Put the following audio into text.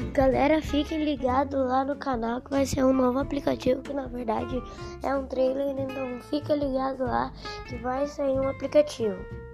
Galera, fiquem ligados lá no canal que vai ser um novo aplicativo, que na verdade é um trailer, então fica ligado lá que vai sair um aplicativo.